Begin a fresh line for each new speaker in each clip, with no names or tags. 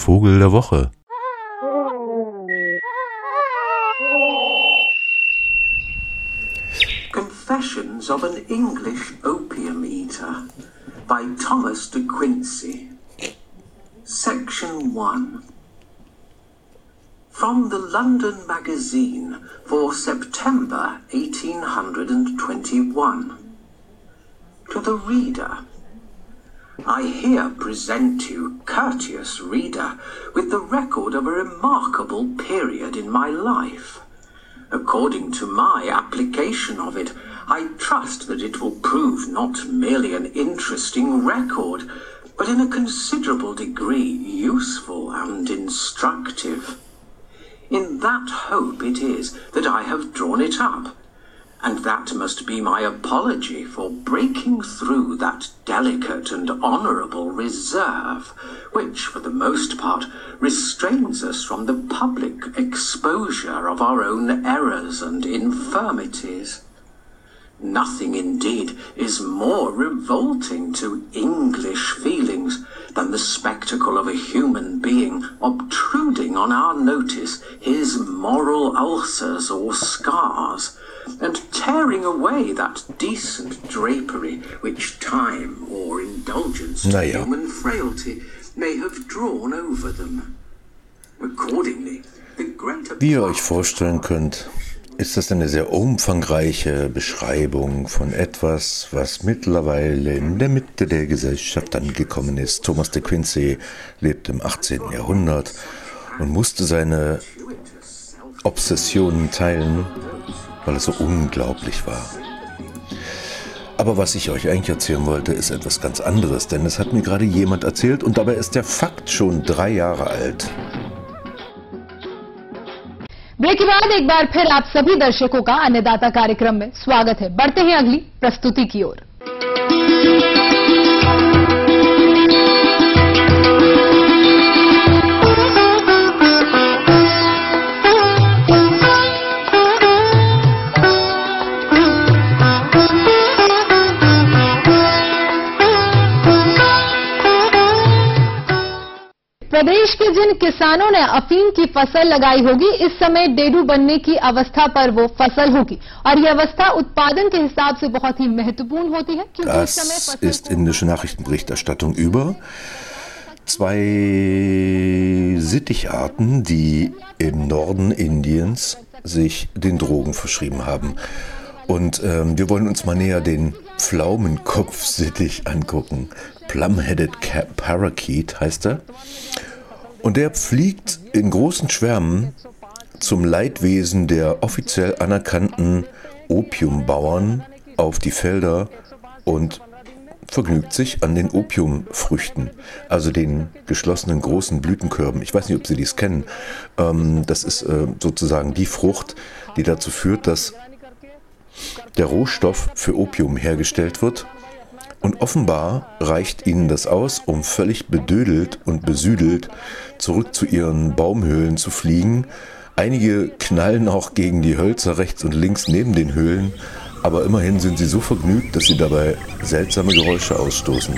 Vogel der Woche.
Confessions of an English Opium Eater by Thomas de Quincey. Section 1. From the London Magazine for September 1821. To the Reader. I here present you, courteous reader, with the record of a remarkable period in my life. According to my application of it, I trust that it will prove not merely an interesting record, but in a considerable degree useful and instructive. In that hope it is that I have drawn it up, and that must be my apology for breaking through that delicate and honourable reserve, which, for the most part, restrains us from the public exposure of our own errors and infirmities. Nothing, indeed, is more revolting to English feelings than the spectacle of a human being obtruding on our notice his moral ulcers or scars, and tearing away that decent drapery which time or indulgence to human frailty may have drawn over them. Accordingly, the greater...
Wie ihr euch vorstellen könnt, ist das eine sehr umfangreiche Beschreibung von etwas, was mittlerweile in der Mitte der Gesellschaft angekommen ist. Thomas de Quincey lebte im 18. Jahrhundert und musste seine Obsessionen teilen, weil es so unglaublich war. Aber was ich euch eigentlich erzählen wollte, ist etwas ganz anderes, denn es hat mir gerade jemand erzählt und dabei ist der Fakt schon 3 Jahre alt.
Break के बाद एक बार फिर आप सभी दर्शकों का अन्नदाता कार्यक्रम में स्वागत है। बढ़ते हैं अगली प्रस्तुति की ओर। प्रदेश के जिन किसानों ने अफीम की फसल लगाई होगी, इस समय डेडू बनने की अवस्था पर वो फसल होगी और ये अवस्था उत्पादन के हिसाब से बहुत ही महत्वपूर्ण होती है, क्योंकि इस समय फसल
ist indische Nachrichtenberichterstattung über 2 Sitticharten, die im Norden Indiens sich den Drogen verschrieben haben. Und wir wollen uns mal näher den Pflaumenkopfsittich angucken. Plum-Headed Parakeet heißt er. Und der fliegt in großen Schwärmen zum Leidwesen der offiziell anerkannten Opiumbauern auf die Felder und vergnügt sich an den Opiumfrüchten, also den geschlossenen großen Blütenkörben. Ich weiß nicht, ob Sie dies kennen. Das ist sozusagen die Frucht, die dazu führt, dass der Rohstoff für Opium hergestellt wird. Und offenbar reicht ihnen das aus, um völlig bedödelt und besüdelt zurück zu ihren Baumhöhlen zu fliegen. Einige knallen auch gegen die Hölzer rechts und links neben den Höhlen, aber immerhin sind sie so vergnügt, dass sie dabei seltsame Geräusche ausstoßen.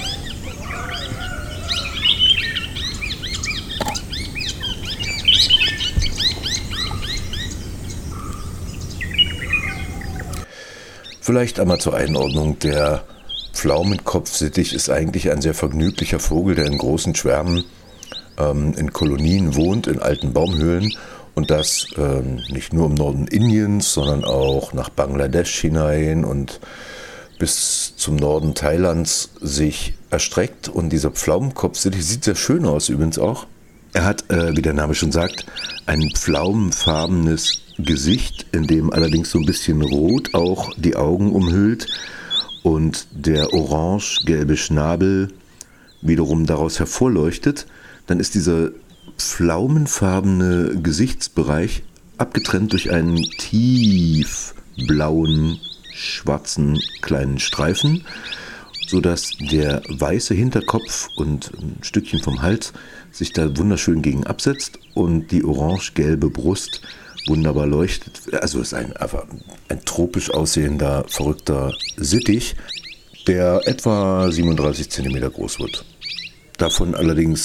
Vielleicht einmal zur Einordnung: Der Pflaumenkopfsittich ist eigentlich ein sehr vergnüglicher Vogel, der in großen Schwärmen in Kolonien wohnt, in alten Baumhöhlen, und das nicht nur im Norden Indiens, sondern auch nach Bangladesch hinein und bis zum Norden Thailands sich erstreckt. Und dieser Pflaumenkopfsittich sieht sehr schön aus übrigens auch. Er hat, wie der Name schon sagt, ein pflaumenfarbenes Gesicht, in dem allerdings so ein bisschen rot auch die Augen umhüllt und der orange-gelbe Schnabel wiederum daraus hervorleuchtet. Dann ist dieser pflaumenfarbene Gesichtsbereich abgetrennt durch einen tiefblauen, schwarzen kleinen Streifen, sodass der weiße Hinterkopf und ein Stückchen vom Hals sich da wunderschön gegen absetzt und die orange-gelbe Brust wunderbar leuchtet. Also ist einfach ein tropisch aussehender, verrückter Sittich, der etwa 37 cm groß wird. Davon allerdings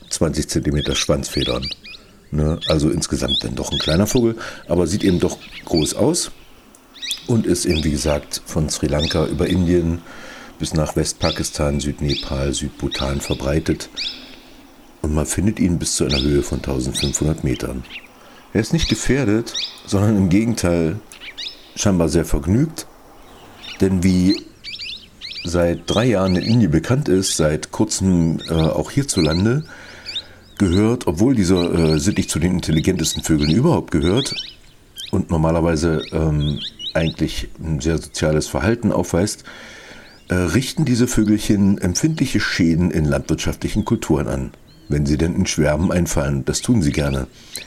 20 cm Schwanzfedern. Ne? Also insgesamt dann doch ein kleiner Vogel, aber sieht eben doch groß aus und ist eben, wie gesagt, von Sri Lanka über Indien bis nach Westpakistan, Südnepal, Südbhutan verbreitet. Und man findet ihn bis zu einer Höhe von 1500 Metern. Er ist nicht gefährdet, sondern im Gegenteil scheinbar sehr vergnügt. Denn wie seit 3 Jahren in Indien bekannt ist, seit kurzem auch hierzulande, gehört, obwohl dieser Sittich zu den intelligentesten Vögeln überhaupt gehört und normalerweise eigentlich ein sehr soziales Verhalten aufweist, richten diese Vögelchen empfindliche Schäden in landwirtschaftlichen Kulturen an, wenn sie denn in Schwärmen einfallen. Das tun sie gerne.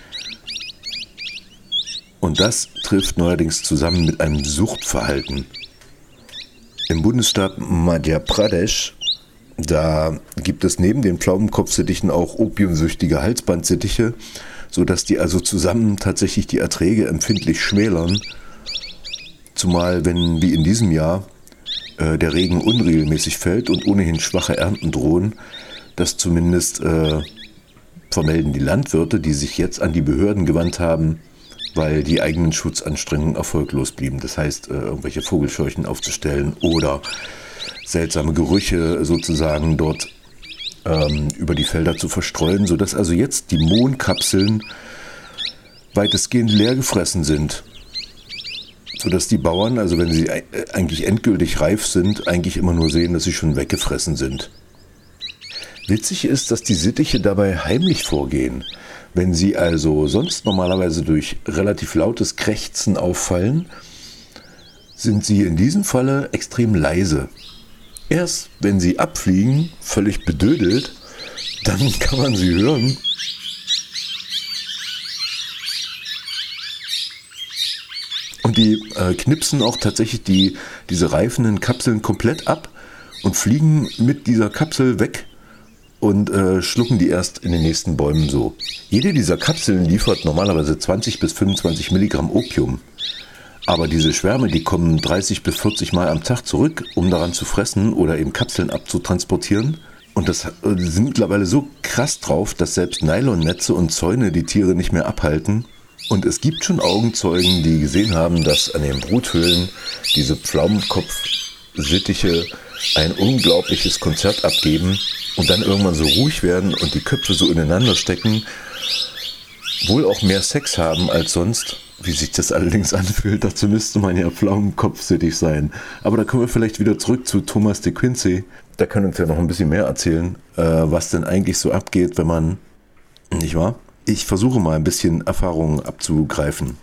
Und das trifft neuerdings zusammen mit einem Suchtverhalten. Im Bundesstaat Madhya Pradesh, da gibt es neben den Pflaumenkopfsittichen auch opiumsüchtige Halsbandsittiche, sodass die also zusammen tatsächlich die Erträge empfindlich schmälern. Zumal, wenn wie in diesem Jahr der Regen unregelmäßig fällt und ohnehin schwache Ernten drohen, das zumindest vermelden die Landwirte, die sich jetzt an die Behörden gewandt haben, weil die eigenen Schutzanstrengungen erfolglos blieben. Das heißt, irgendwelche Vogelscheuchen aufzustellen oder seltsame Gerüche sozusagen dort über die Felder zu verstreuen, sodass also jetzt die Mohnkapseln weitestgehend leer gefressen sind. Sodass die Bauern, also wenn sie eigentlich endgültig reif sind, eigentlich immer nur sehen, dass sie schon weggefressen sind. Witzig ist, dass die Sittiche dabei heimlich vorgehen. Wenn sie also sonst normalerweise durch relativ lautes Krächzen auffallen, sind sie in diesem Falle extrem leise. Erst wenn sie abfliegen, völlig bedödelt, dann kann man sie hören. Und die knipsen auch tatsächlich diese reifenden Kapseln komplett ab und fliegen mit dieser Kapsel weg und schlucken die erst in den nächsten Bäumen so. Jede dieser Kapseln liefert normalerweise 20 bis 25 Milligramm Opium. Aber diese Schwärme, die kommen 30 bis 40 Mal am Tag zurück, um daran zu fressen oder eben Kapseln abzutransportieren. Und das sind mittlerweile so krass drauf, dass selbst Nylonnetze und Zäune die Tiere nicht mehr abhalten. Und es gibt schon Augenzeugen, die gesehen haben, dass an den Bruthöhlen diese Pflaumenkopfsittiche ein unglaubliches Konzert abgeben und dann irgendwann so ruhig werden und die Köpfe so ineinander stecken, wohl auch mehr Sex haben als sonst. Wie sich das allerdings anfühlt, dazu müsste man ja Pflaumenkopfsittich sein. Aber da kommen wir vielleicht wieder zurück zu Thomas de Quincey. Der kann uns ja noch ein bisschen mehr erzählen, was denn eigentlich so abgeht, wenn man, nicht wahr? Ich versuche mal ein bisschen Erfahrungen abzugreifen.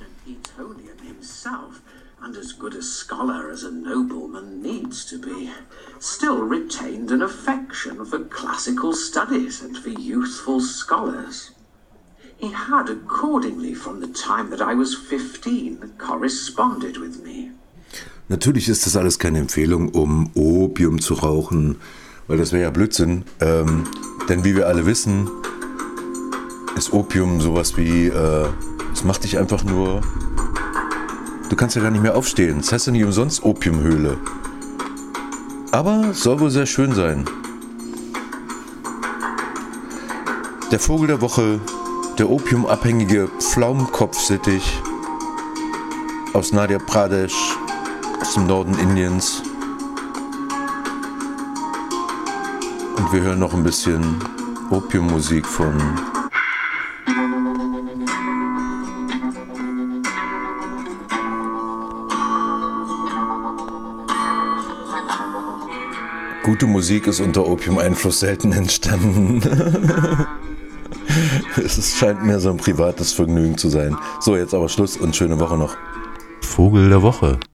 Still retained an affection for classical studies and for youthful scholars. He had accordingly, from the time that I was 15, corresponded with me.
Natürlich ist das alles keine Empfehlung, um Opium zu rauchen, weil das wäre ja Blödsinn. Denn wie wir alle wissen, ist Opium sowas wie, es macht dich einfach nur, du kannst ja gar nicht mehr aufstehen. Das heißt ja nicht umsonst Opiumhöhle. Aber es soll wohl sehr schön sein. Der Vogel der Woche, der opiumabhängige Pflaumenkopfsittich aus Madhya Pradesh, aus dem Norden Indiens. Und wir hören noch ein bisschen Opiummusik von Gute Musik ist unter Opium-Einfluss selten entstanden. Es scheint mir so ein privates Vergnügen zu sein. So, jetzt aber Schluss und schöne Woche noch. Vogel der Woche.